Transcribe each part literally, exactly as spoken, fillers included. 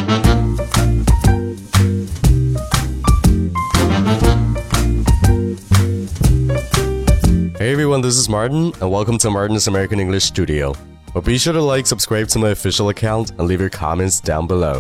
Hey everyone, this is Martin, and welcome to Martin's American English Studio. Well, be sure to like, subscribe to my official account, and leave your comments down below.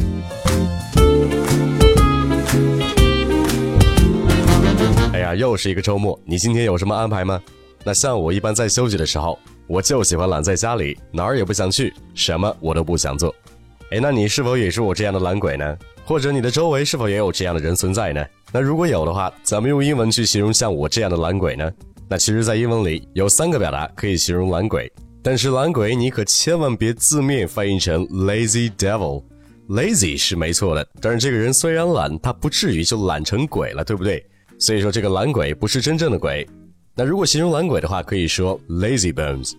哎呀，又是一个周末，你今天有什么安排吗？那像我一般在休息的时候，我就喜欢懒在家里，哪儿也不想去，什么我都不想做。哎，那你是否也是我这样的懒鬼呢？或者你的周围是否也有这样的人存在呢？那如果有的话，怎么用英文去形容像我这样的懒鬼呢？那其实在英文里有三个表达可以形容懒鬼，但是懒鬼你可千万别字面翻译成 lazy devil。 lazy 是没错的，但是这个人虽然懒，他不至于就懒成鬼了，对不对？所以说这个懒鬼不是真正的鬼。那如果形容懒鬼的话，可以说 lazy bones，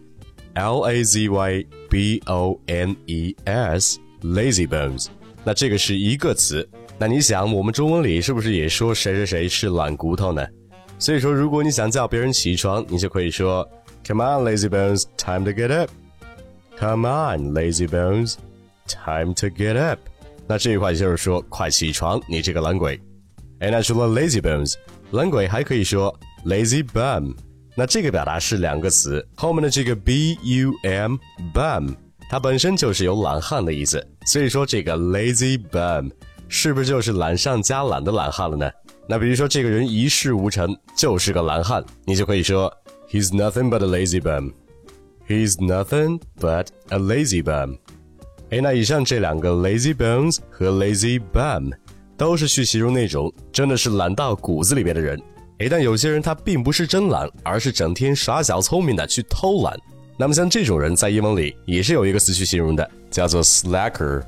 L A Z Y B O N E S， lazy bones。 那这个是一个词，那你想我们中文里是不是也说谁谁谁是懒骨头呢？所以说如果你想叫别人起床，你就可以说 Come on lazy bones, time to get up. Come on lazy bones, time to get up. 那这一块就是说快起床，你这个懒鬼。哎，那除了 lazy bones， 懒鬼还可以说 lazy bum。 那这个表达是两个词，后面的这个 B U M bum 它本身就是有懒汉的意思，所以说这个 lazy bum 是不是就是懒上加懒的懒汉了呢？那比如说这个人一事无成，就是个懒汉，你就可以说 He's nothing but a lazy bum. He's nothing but a lazy bum. 诶，那以上这两个 lazy bones 和 lazy bum 都是去形容那种真的是懒到骨子里边的人。诶，但有些人他并不是真懒，而是整天耍小聪明的去偷懒。那么像这种人在英文里也是有一个词去形容的，叫做 slacker.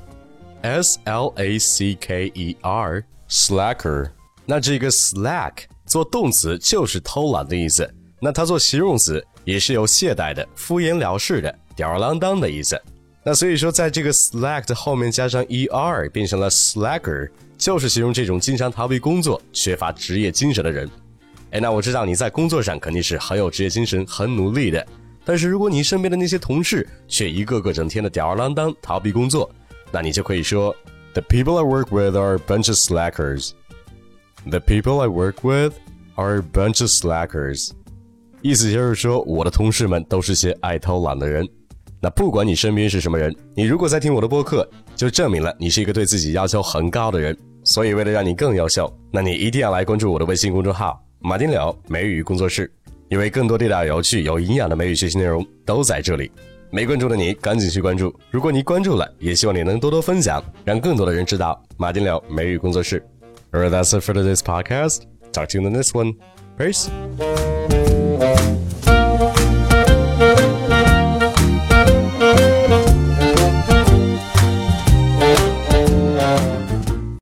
S L A C K E R, slacker. 那这个 slack 做动词就是偷懒的意思，那它做形容词也是有懈怠的、敷衍了事的、吊儿郎当的意思。那所以说在这个 slack 的后面加上 er 变成了 slacker， 就是形容这种经常逃避工作、缺乏职业精神的人。诶，那我知道你在工作上肯定是很有职业精神、很努力的，但是如果你身边的那些同事却一个个整天的吊儿郎当、逃避工作，那你就可以说 The people I work with are a bunch of slackers.The people I work with are a bunch of slackers. 意思就是说我的同事们都是些爱偷懒的人。那不管你身边是什么人，你如果在听我的播客，就证明了你是一个对自己要求很高的人。所以为了让你更优秀，那你一定要来关注我的微信公众号马丁柳美语工作室，因为更多地道有趣有营养的美语学习内容都在这里。没关注的你赶紧去关注，如果你关注了，也希望你能多多分享，让更多的人知道马丁柳美语工作室。Alright, that's it for today's podcast. Talk to you in the next one. Peace.